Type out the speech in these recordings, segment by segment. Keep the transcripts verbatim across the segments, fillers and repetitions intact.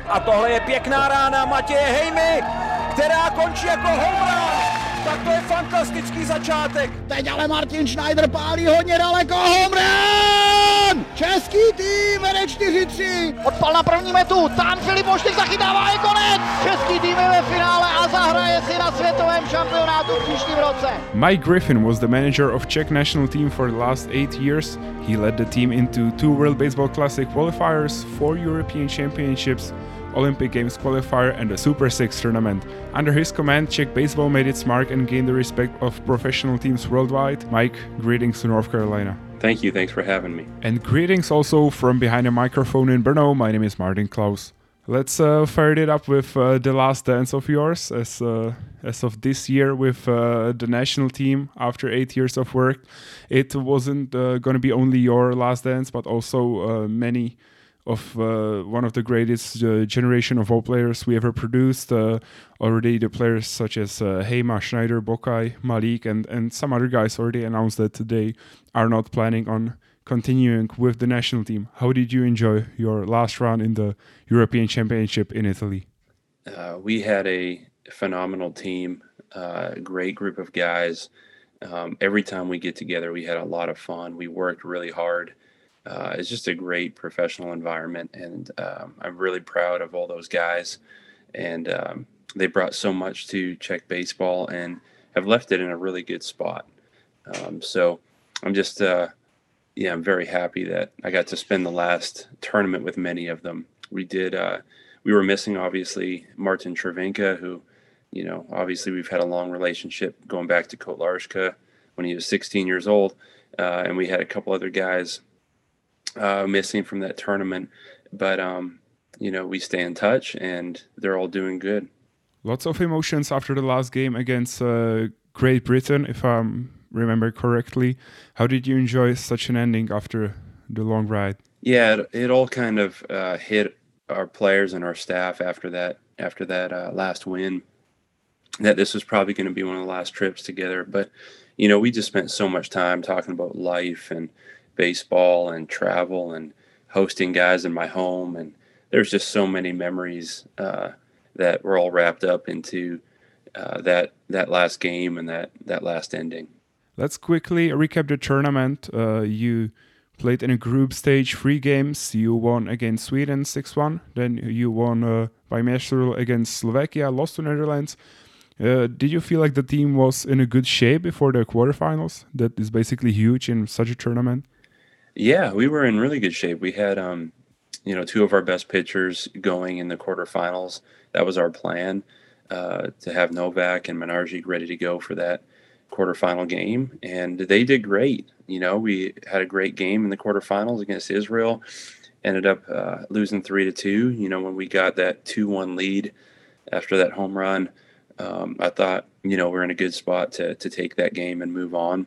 A tohle je pěkná rána Matěje Hejmy, která končí jako home run. Tak to je fantastický začátek. Teď ale Martin Schneider pálí hodně daleko, home run! Český tým vede čtyři tři. Odpal na první metu, tam Filip Moštyk zachytává, je konec. Český tým je ve finále a zahraje si na světovém šampionátu v příštím roce. Mike Griffin was the manager of Czech national team for the last eight years. He led the team into two World Baseball Classic qualifiers, four European Championships, Olympic Games qualifier and the Super Six tournament. Under his command, Czech baseball made its mark and gained the respect of professional teams worldwide. Mike, greetings to North Carolina. Thank you, thanks for having me. And greetings also from behind the microphone in Brno. My name is Martin Klaus. Let's uh, fire it up with uh, the last dance of yours as uh, as of this year with uh, the national team after eight years of work. It wasn't uh, going to be only your last dance, but also uh, many of uh, one of the greatest uh, generation of all players we ever produced. Uh, already the players such as uh, Heima, Schneider, Bokai, Malik, and, and some other guys already announced that they are not planning on continuing with the national team. How did you enjoy your last run in the European Championship in Italy? Uh, we had a phenomenal team, a uh, great group of guys. Um, every time we get together, we had a lot of fun. We worked really hard. Uh, it's just a great professional environment, and um, I'm really proud of all those guys. And um, they brought so much to Czech baseball and have left it in a really good spot. Um, so I'm just, uh, yeah, I'm very happy that I got to spend the last tournament with many of them. We did, uh, we were missing, obviously, Martin Cervenka, who, you know, obviously we've had a long relationship going back to Kotlarska when he was sixteen years old. Uh, and we had a couple other guys Uh, missing from that tournament, but um, you know, we stay in touch and they're all doing good. Lots of emotions after the last game against uh, Great Britain, if I remember correctly. How did you enjoy such an ending after the long ride? Yeah, it, it all kind of uh, hit our players and our staff after that after that uh, last win, that this was probably going to be one of the last trips together. But you know, we just spent so much time talking about life and baseball and travel and hosting guys in my home, and there's just so many memories uh, that were all wrapped up into uh, that that last game and that that last ending. Let's quickly recap the tournament. Uh, you played in a group stage, three games. You won against Sweden six one. Then you won uh, by match rule against Slovakia, lost to Netherlands. Uh, did you feel like the team was in a good shape before the quarterfinals? That is basically huge in such a tournament. Yeah, we were in really good shape. We had, um, you know, two of our best pitchers going in the quarterfinals. That was our plan, uh, to have Novak and Menarjic ready to go for that quarterfinal game. And they did great. You know, we had a great game in the quarterfinals against Israel, ended up uh, losing three to two. You know, when we got that two one lead after that home run, um, I thought, you know, we're in a good spot to to take that game and move on.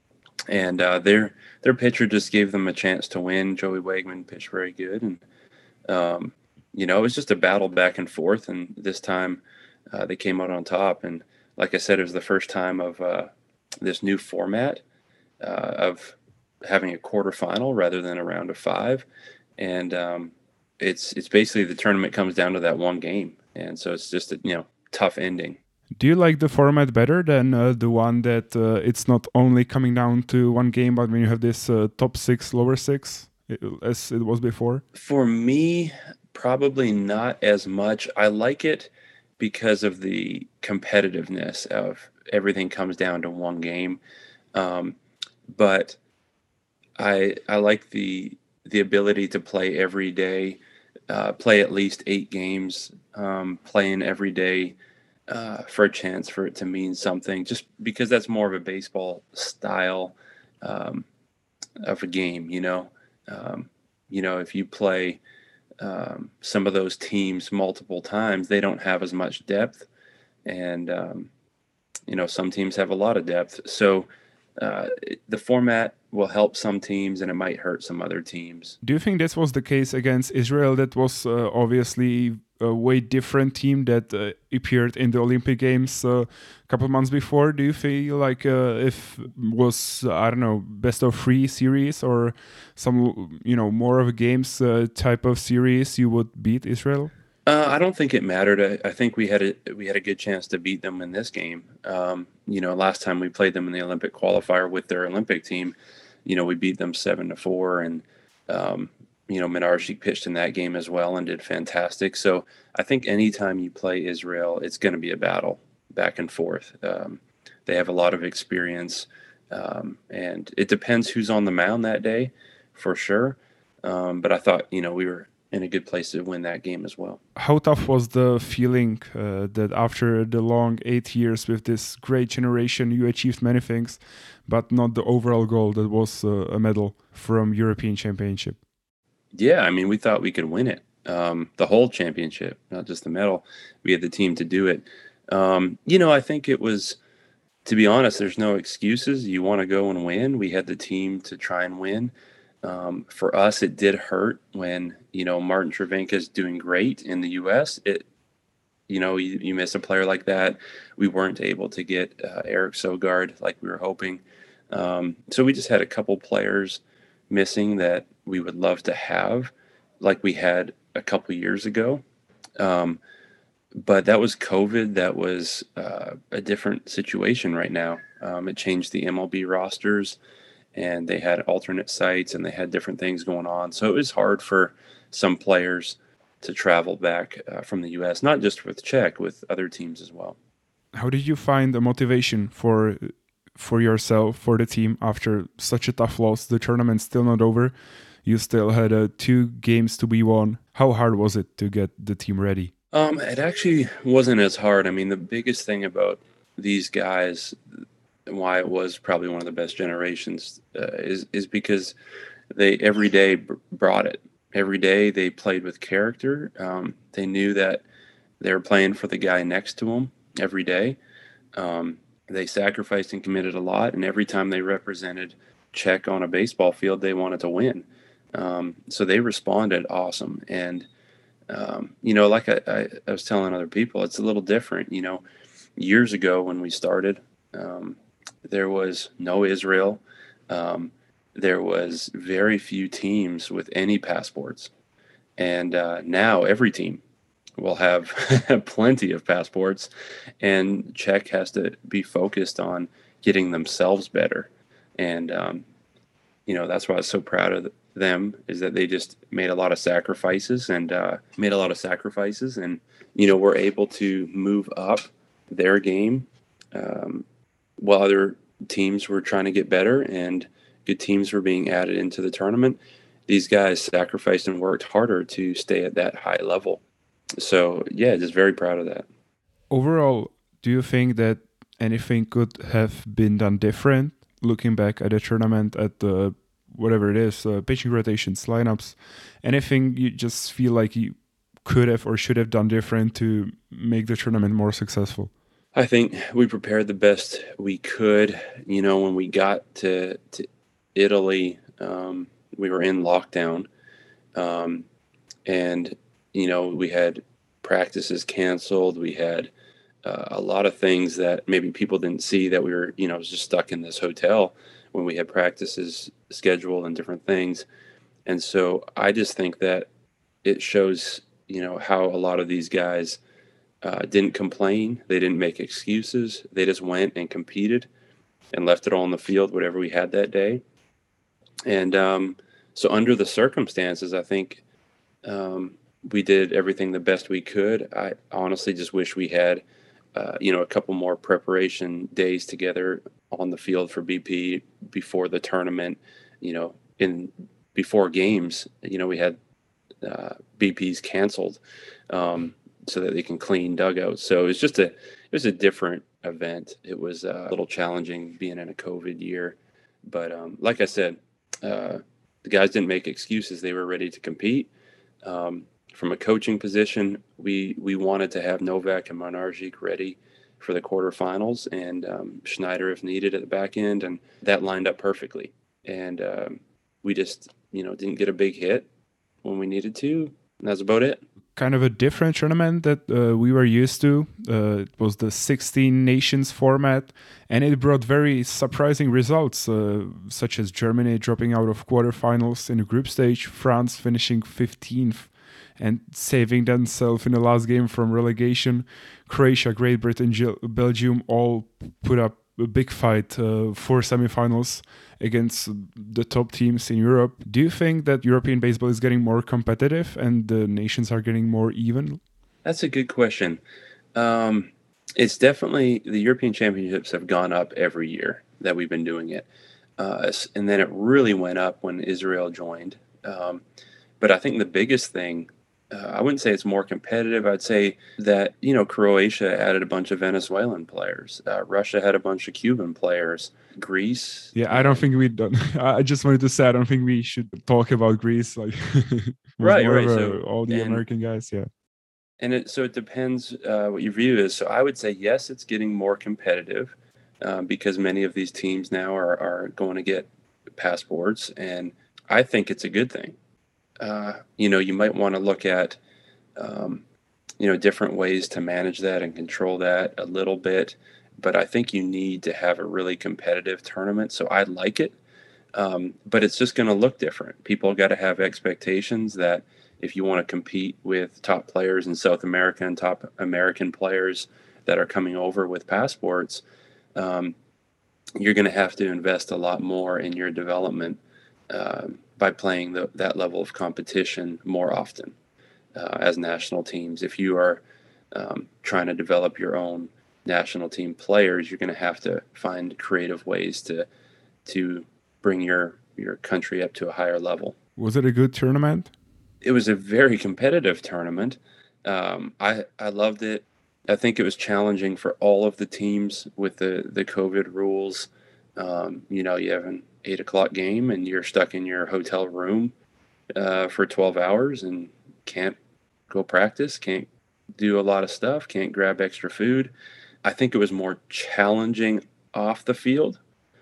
And uh, their their pitcher just gave them a chance to win. Joey Wegman pitched very good, and um, you know, it was just a battle back and forth. And this time, uh, they came out on top. And like I said, it was the first time of uh, this new format uh, of having a quarterfinal rather than a round of five. And um, it's it's basically the tournament comes down to that one game, and so it's just a you know tough ending. Do you like the format better than uh, the one that uh, it's not only coming down to one game, but when you have this uh, top six, lower six, as it was before? For me, probably not as much. I like it because of the competitiveness of everything comes down to one game. Um, but I I like the the ability to play every day, uh, play at least eight games, um, playing every day. Uh, for a chance for it to mean something, just because that's more of a baseball style um, of a game, you know. Um, you know, if you play um, some of those teams multiple times, they don't have as much depth, and um, you know, some teams have a lot of depth. So uh, the format will help some teams, and it might hurt some other teams. Do you think this was the case against Israel? That was uh, obviously a way different team that uh, appeared in the Olympic Games uh, a couple months before. Do you feel like uh, if was I don't know best of three series or some you know more of a games uh, type of series, you would beat Israel? Uh, I don't think it mattered. I, I think we had a we had a good chance to beat them in this game. Um, you know, last time we played them in the Olympic qualifier with their Olympic team, you know, we beat them seven to four, and um, you know, Minarji pitched in that game as well and did fantastic. So I think anytime you play Israel, it's going to be a battle back and forth. Um, they have a lot of experience, um, and it depends who's on the mound that day, for sure. Um, but I thought, you know, we were in a good place to win that game as well. How tough was the feeling uh, that after the long eight years with this great generation, you achieved many things, but not the overall goal that was uh, a medal from European Championship? Yeah, I mean, we thought we could win it, um, the whole championship, not just the medal. We had the team to do it. Um, you know, I think it was, to be honest, there's no excuses. You want to go and win. We had the team to try and win. Um, for us, it did hurt when, you know, Martin Cervenka is doing great in the U S. It, you know, you, you miss a player like that. We weren't able to get uh, Eric Sogard like we were hoping. Um, so we just had a couple players missing that we would love to have, like we had a couple years ago. Um, but that was COVID. That was uh, a different situation right now. Um, it changed the M L B rosters, and they had alternate sites and they had different things going on. So it was hard for some players to travel back uh, from the U S, not just with Czech, with other teams as well. How did you find the motivation for for yourself, for the team, after such a tough loss? The tournament's still not over. You still had uh, two games to be won. How hard was it to get the team ready? Um, it actually wasn't as hard. I mean, the biggest thing about these guys, why it was probably one of the best generations, uh, is is because they every day b- brought it. Every day they played with character. Um, they knew that they were playing for the guy next to them every day. Um, they sacrificed and committed a lot, and every time they represented Czech on a baseball field, they wanted to win. Um, so they responded awesome. And um, you know, like I, I, I was telling other people, it's a little different. You know, years ago when we started, um, there was no Israel. Um, there was very few teams with any passports. And uh, now every team will have plenty of passports. And Czech has to be focused on getting themselves better. And, um, you know, that's why I was so proud of them, is that they just made a lot of sacrifices and uh, made a lot of sacrifices. And, you know, were able to move up their game um, while other teams were trying to get better and good teams were being added into the tournament. These guys sacrificed and worked harder to stay at that high level. So, yeah, just very proud of that. Overall, do you think that anything could have been done different, looking back at the tournament, at the whatever it is, uh, pitching rotations, lineups, anything you just feel like you could have or should have done different to make the tournament more successful? I think we prepared the best we could. You know, when we got to, to Italy, um, we were in lockdown. Um, and, you know, we had practices canceled. We had uh, a lot of things that maybe people didn't see, that we were, you know, just stuck in this hotel when we had practices scheduled and different things. And so I just think that it shows, you know, how a lot of these guys uh, didn't complain. They didn't make excuses. They just went and competed and left it all on the field, whatever we had that day. And um, so under the circumstances, I think um, we did everything the best we could. I honestly just wish we had, uh, you know, a couple more preparation days together on the field for B P before the tournament. You know, in before games, you know, we had uh, B Ps canceled um, so that they can clean dugouts. So it was just a it was a different event. It was a little challenging being in a COVID year, but um, like I said, uh, the guys didn't make excuses. They were ready to compete. Um, from a coaching position, we we wanted to have Novak and Minarji ready for the quarterfinals, and um, Schneider if needed at the back end, and that lined up perfectly. And um, we just, you know, didn't get a big hit when we needed to, and that's about it. Kind of a different tournament that uh, we were used to. Uh, it was the sixteen nations format, and it brought very surprising results, uh, such as Germany dropping out of quarterfinals in the group stage, France finishing fifteenth, and saving themselves in the last game from relegation. Croatia, Great Britain, Belgium all put up a big fight uh, for semifinals against the top teams in Europe. Do you think that European baseball is getting more competitive and the nations are getting more even? That's a good question. Um, it's definitely, the European Championships have gone up every year that we've been doing it. Uh, and then it really went up when Israel joined. Um, but I think the biggest thing, uh, I wouldn't say it's more competitive. I'd say that, you know, Croatia added a bunch of Venezuelan players. Uh, Russia had a bunch of Cuban players. Greece. Yeah, I don't think we done. I just wanted to say I don't think we should talk about Greece. Like, right, more right. of a, So, all the and, American guys. Yeah. And it, so it depends uh, what your view is. So I would say, yes, it's getting more competitive um, because many of these teams now are, are going to get passports. And I think it's a good thing. Uh, you know, you might want to look at, um, you know, different ways to manage that and control that a little bit. But I think you need to have a really competitive tournament. So I like it. Um, but it's just going to look different. People got to have expectations that if you want to compete with top players in South America and top American players that are coming over with passports, um, you're going to have to invest a lot more in your development uh, by playing the, that level of competition more often uh, as national teams. If you are um, trying to develop your own national team players, you're going to have to find creative ways to to bring your your country up to a higher level. Was it a good tournament? It was a very competitive tournament. Um, I I loved it. I think it was challenging for all of the teams with the, the COVID rules. Um, you know, you have an eight o'clock game and you're stuck in your hotel room uh, for twelve hours and can't go practice, can't do a lot of stuff, can't grab extra food. I think it was more challenging off the field.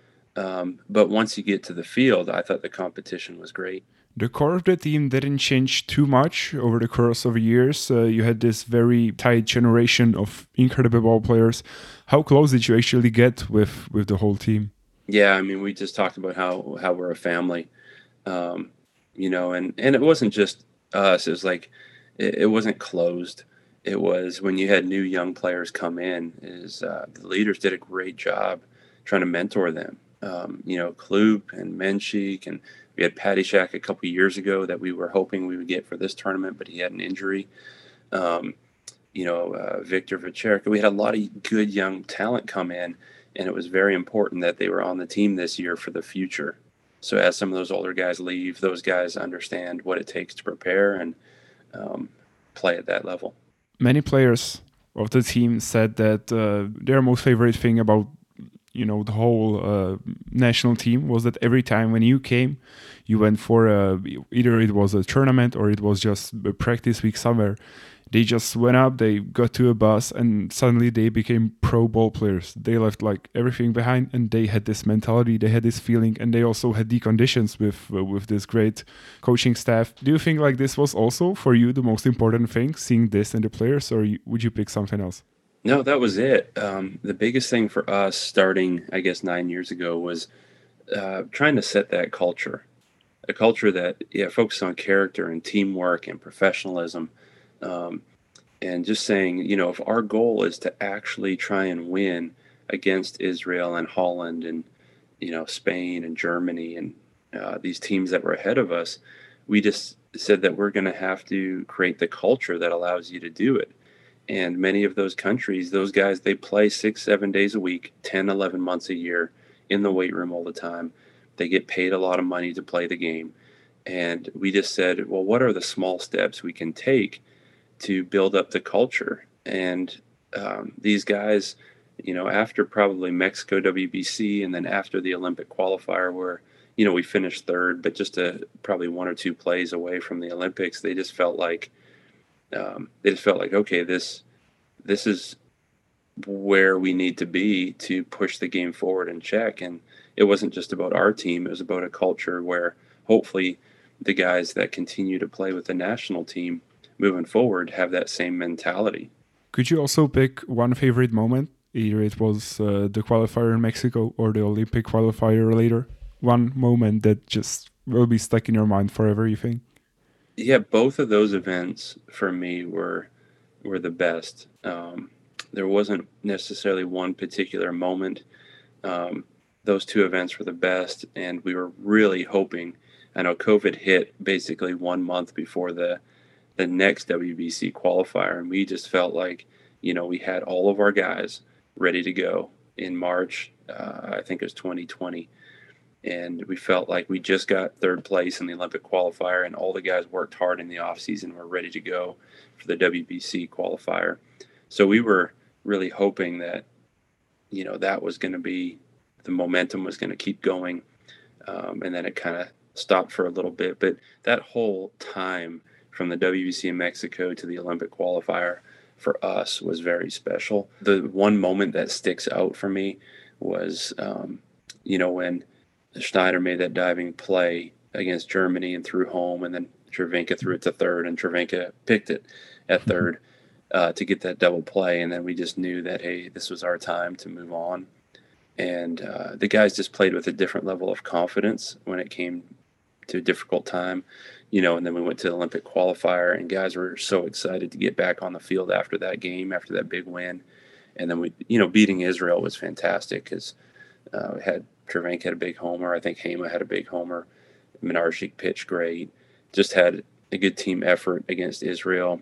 Um, but once you get to the field, I thought the competition was great. The core of the team didn't change too much over the course of years. Uh, you had this very tight generation of incredible ball players. How close did you actually get with, with the whole team? Yeah, I mean, we just talked about how, how we're a family, um, you know, and, and it wasn't just us. It was like, it, it wasn't closed. It was when you had new young players come in, is uh, the leaders did a great job trying to mentor them. Um, you know, Kloop and Menchik, and we had Patty Shack a couple of years ago that we were hoping we would get for this tournament, but he had an injury. Um, you know, uh, Victor Večerka. We had a lot of good young talent come in, and it was very important that they were on the team this year for the future. So as some of those older guys leave, those guys understand what it takes to prepare and um, play at that level. Many players of the team said that uh, their most favorite thing about you know, the whole uh, national team was that every time when you came, you went for a, either it was a tournament or it was just a practice week somewhere. They just went up, they got to a bus, and suddenly they became pro ball players. They left like everything behind, and they had this mentality, they had this feeling, and they also had the conditions with uh, with this great coaching staff. Do you think like this was also for you the most important thing, seeing this in the players, or you, would you pick something else? No, that was it. Um, the biggest thing for us starting, I guess, nine years ago was uh, trying to set that culture, a culture that yeah, focused on character and teamwork and professionalism. Um, and just saying, you know, if our goal is to actually try and win against Israel and Holland and, you know, Spain and Germany and uh, these teams that were ahead of us, we just said that we're going to have to create the culture that allows you to do it. And many of those countries, those guys, they play six, seven days a week, ten, eleven months a year in the weight room all the time. They get paid a lot of money to play the game. And we just said, well, what are the small steps we can take to build up the culture? And um, these guys, you know, after probably Mexico W B C and then after the Olympic qualifier where, you know, we finished third, but just a, probably one or two plays away from the Olympics, they just felt like, Um, they just felt like, okay, this this is where we need to be to push the game forward and check. And it wasn't just about our team. It was about a culture where hopefully the guys that continue to play with the national team moving forward have that same mentality. Could you also pick one favorite moment? Either it was uh, the qualifier in Mexico or the Olympic qualifier later. One moment that just will be stuck in your mind forever, you think? Yeah, both of those events for me were were the best. Um, there wasn't necessarily one particular moment. Um, those two events were the best, and we were really hoping. I know COVID hit basically one month before the the next W B C qualifier, and we just felt like, you know, we had all of our guys ready to go in March. Uh, I think it was twenty twenty, and we felt like we just got third place in the Olympic qualifier, and all the guys worked hard in the off season, were ready to go for the W B C qualifier. So we were really hoping that, you know, that was going to be, the momentum was going to keep going. Um, and then it kind of stopped for a little bit. But that whole time from the W B C in Mexico to the Olympic qualifier for us was very special. The one moment that sticks out for me was, um, you know, when Schneider made that diving play against Germany and threw home, and then Cervenka threw it to third, and Cervenka picked it at third uh, to get that double play. And then we just knew that, hey, this was our time to move on. And uh, the guys just played with a different level of confidence when it came to a difficult time, you know, and then we went to the Olympic qualifier, and guys were so excited to get back on the field after that game, after that big win. And then we, you know, beating Israel was fantastic because uh, we had Cervenka had a big homer. I think Hema had a big homer. Minarchik pitched great. Just had a good team effort against Israel.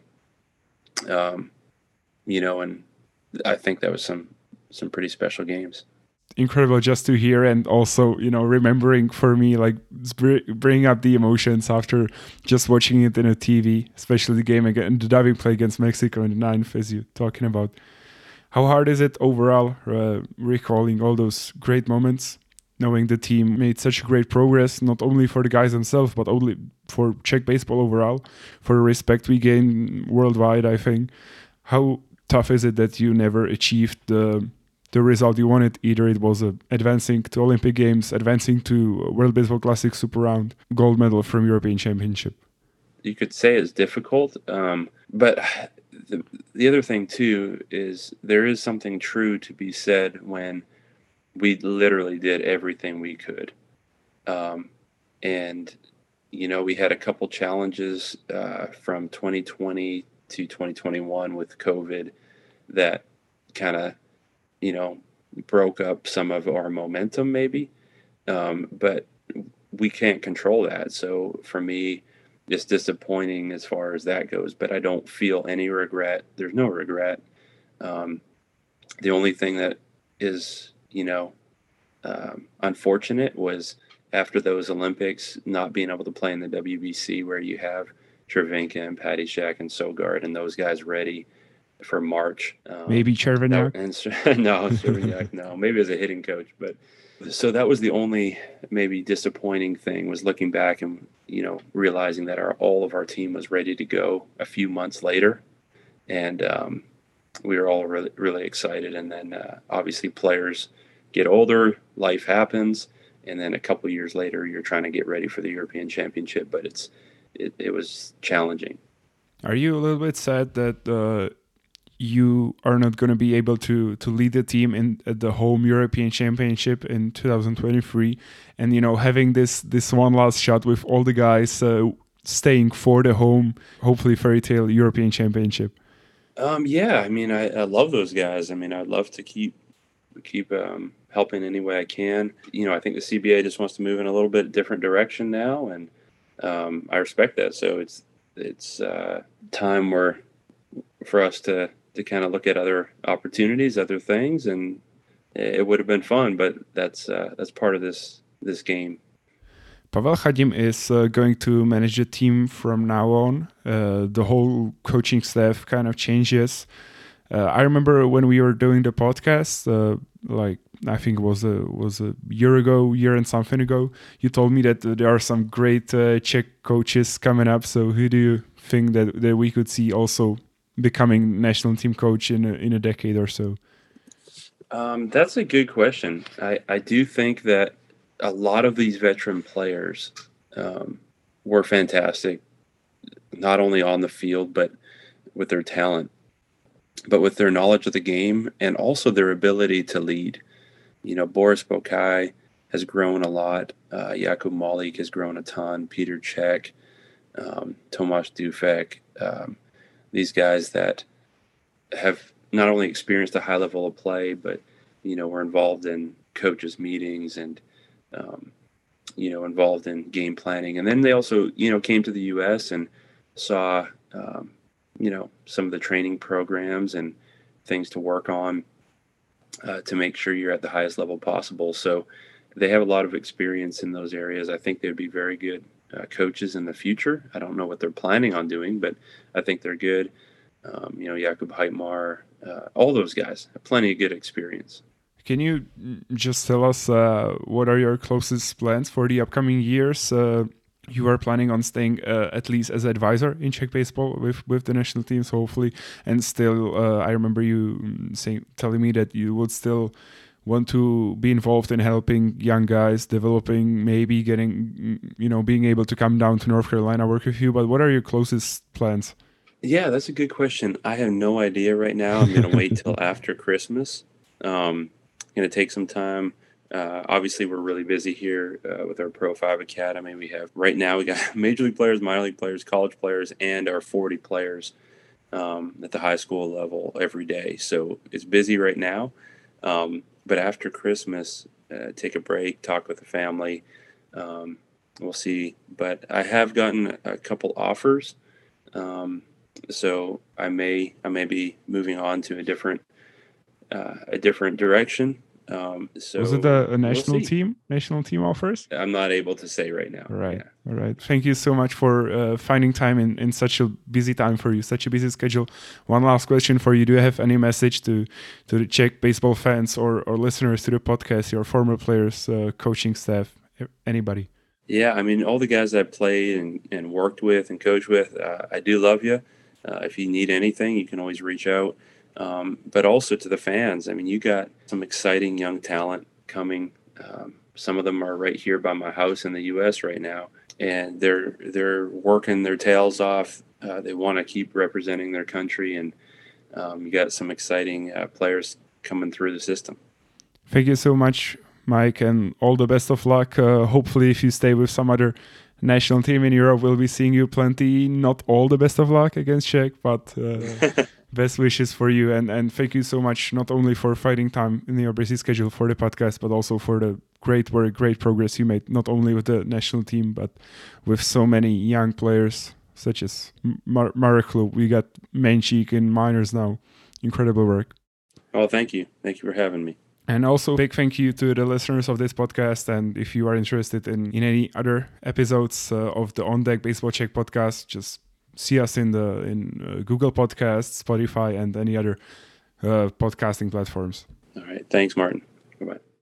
Um, you know, and I think that was some some pretty special games. Incredible just to hear, and also, you know, remembering for me, like bringing up the emotions after just watching it in a T V, especially the game again, the diving play against Mexico in the ninth, as you're talking about. How hard is it overall, uh, recalling all those great moments, knowing the team made such great progress, not only for the guys themselves, but only for Czech baseball overall, for the respect we gain worldwide, I think. How tough is it that you never achieved the the result you wanted? Either it was uh, advancing to Olympic Games, advancing to World Baseball Classic Super Round, gold medal from European Championship. You could say it's difficult, um, but the, the other thing too is there is something true to be said when we literally did everything we could. Um, and, you know, we had a couple challenges uh, from twenty twenty to twenty twenty-one with COVID that kind of, you know, broke up some of our momentum maybe. Um, but we can't control that. So for me, it's disappointing as far as that goes, but I don't feel any regret. There's no regret. Um, the only thing that is, you know, um, unfortunate was after those Olympics, not being able to play in the W B C where you have Cervenka and Patty Shack and Sogard and those guys ready for March. Um, Maybe Cervenka? No, Cervenka, no. Maybe as a hitting coach. But so that was the only maybe disappointing thing, was looking back and, you know, realizing that our all of our team was ready to go a few months later. And um, we were all really, really excited. And then uh, obviously players get older, life happens. And then a couple of years later, you're trying to get ready for the European Championship. But it's it, it was challenging. Are you a little bit sad that uh, you are not going to be able to to lead the team in at the home European Championship in two thousand twenty-three, and, you know, having this this one last shot with all the guys uh, staying for the home, hopefully fairy tale European Championship? Um, yeah, I mean, I, I love those guys. I mean, I'd love to keep keep um, helping any way I can. You know, I think the C B A just wants to move in a little bit different direction now, and um, I respect that. So it's it's uh, time where for us to to kind of look at other opportunities, other things, and it would have been fun, but that's uh, that's part of this this game. Pavel Chadim is uh, going to manage the team from now on. Uh, the whole coaching staff kind of changes. Uh, I remember when we were doing the podcast, uh, like I think it was a was a year ago, year and something ago. You told me that uh, there are some great uh, Czech coaches coming up. So who do you think that, that we could see also becoming national team coach in a, in a decade or so? Um, that's a good question. I, I do think that a lot of these veteran players um, were fantastic, not only on the field, but with their talent, but with their knowledge of the game and also their ability to lead. You know, Boris Bokai has grown a lot. Uh, Jakub Malik has grown a ton. Peter Cech. um, Tomáš Dufek, um, these guys that have not only experienced a high level of play, but, you know, were involved in coaches' meetings and, um, you know, involved in game planning. And then they also, you know, came to the U S and saw, um, you know, some of the training programs and things to work on uh, to make sure you're at the highest level possible. So they have a lot of experience in those areas. I think they'd be very good uh, coaches in the future. I don't know what they're planning on doing, but I think they're good. Um, you know, Jakub Heitmar, uh, all those guys have plenty of good experience. Can you just tell us uh, what are your closest plans for the upcoming years? Uh, you are planning on staying uh, at least as advisor in Czech baseball with, with the national teams, hopefully. And still, uh, I remember you saying, telling me that you would still want to be involved in helping young guys, developing, maybe getting, you know, being able to come down to North Carolina, work with you. But what are your closest plans? Yeah, that's a good question. I have no idea right now. I'm going to wait till after Christmas. Um, going to take some time. Uh, obviously, we're really busy here uh, with our Pro five Academy. We have, right now, we got major league players, minor league players, college players, and our forty players um, at the high school level every day. So it's busy right now. Um, but after Christmas, uh, take a break, talk with the family. Um, we'll see. But I have gotten a couple offers. Um, so I may I may be moving on to a different uh, a different direction. Um, so was it a, a national we'll team? National team offers? I'm not able to say right now. All right, yeah. all right. Thank you so much for uh, finding time in, in such a busy time for you, such a busy schedule. One last question for you: do you have any message to to the Czech baseball fans or or listeners to the podcast? Your former players, uh, coaching staff, anybody? Yeah, I mean, all the guys I played and, and worked with and coached with, uh, I do love you. Uh, if you need anything, you can always reach out. Um, but also to the fans. I mean, you got some exciting young talent coming. Um, some of them are right here by my house in the U S right now, and they're they're working their tails off. Uh, they want to keep representing their country, and um, you got some exciting uh, players coming through the system. Thank you so much, Mike, and all the best of luck. Uh, hopefully, if you stay with some other national team in Europe, we'll be seeing you plenty. Not all the best of luck against Czech, but uh, best wishes for you. And, and thank you so much, not only for finding time in your busy schedule for the podcast, but also for the great work, great progress you made, not only with the national team, but with so many young players, such as Mar- Marek Klub. We got Menchik in minors now. Incredible work. Oh, thank you. Thank you for having me. And also big thank you to the listeners of this podcast. And if you are interested in, in any other episodes uh, of the On Deck Baseball Czech podcast, just see us in the in uh, Google Podcasts, Spotify, and any other uh, podcasting platforms. All right. Thanks, Martin. Bye-bye.